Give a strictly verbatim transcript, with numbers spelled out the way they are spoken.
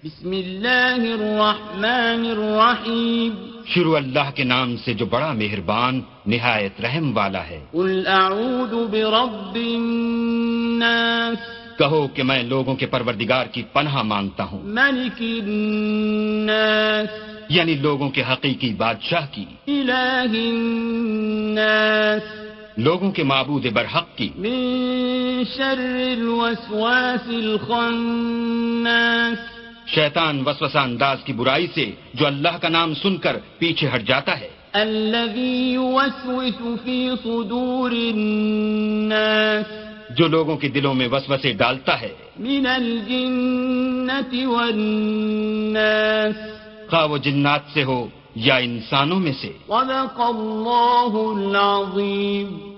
बिस्मिल्लाहिर्रहमानिर्रहीम। शुरू अल्लाह के नाम से जो बड़ा मेहरबान निहायत रहम वाला है। कुल अऊज़ु बिरब्बिन नास, कहो कि मैं लोगों के परवरदिगार की पनाह मांगता हूँ। मलिकिन नास, यानी लोगों के हकीकी बादशाह की। इलाहिन नास, लोगों के माबूद बरहक की। मिन शर्रिल वस्वासिल खन्नास, शैतान वसवसा अंदाज की बुराई से जो अल्लाह का नाम सुनकर पीछे हट जाता है। अल्लज़ी युवस्विसु फी सुदूरिन नास, जो लोगों के दिलों में वसवसे डालता है। मिनल जिन्नति वन नास, खा वो जिन्नात से हो या इंसानों में से। सदक़ल्लाहुल अज़ीम।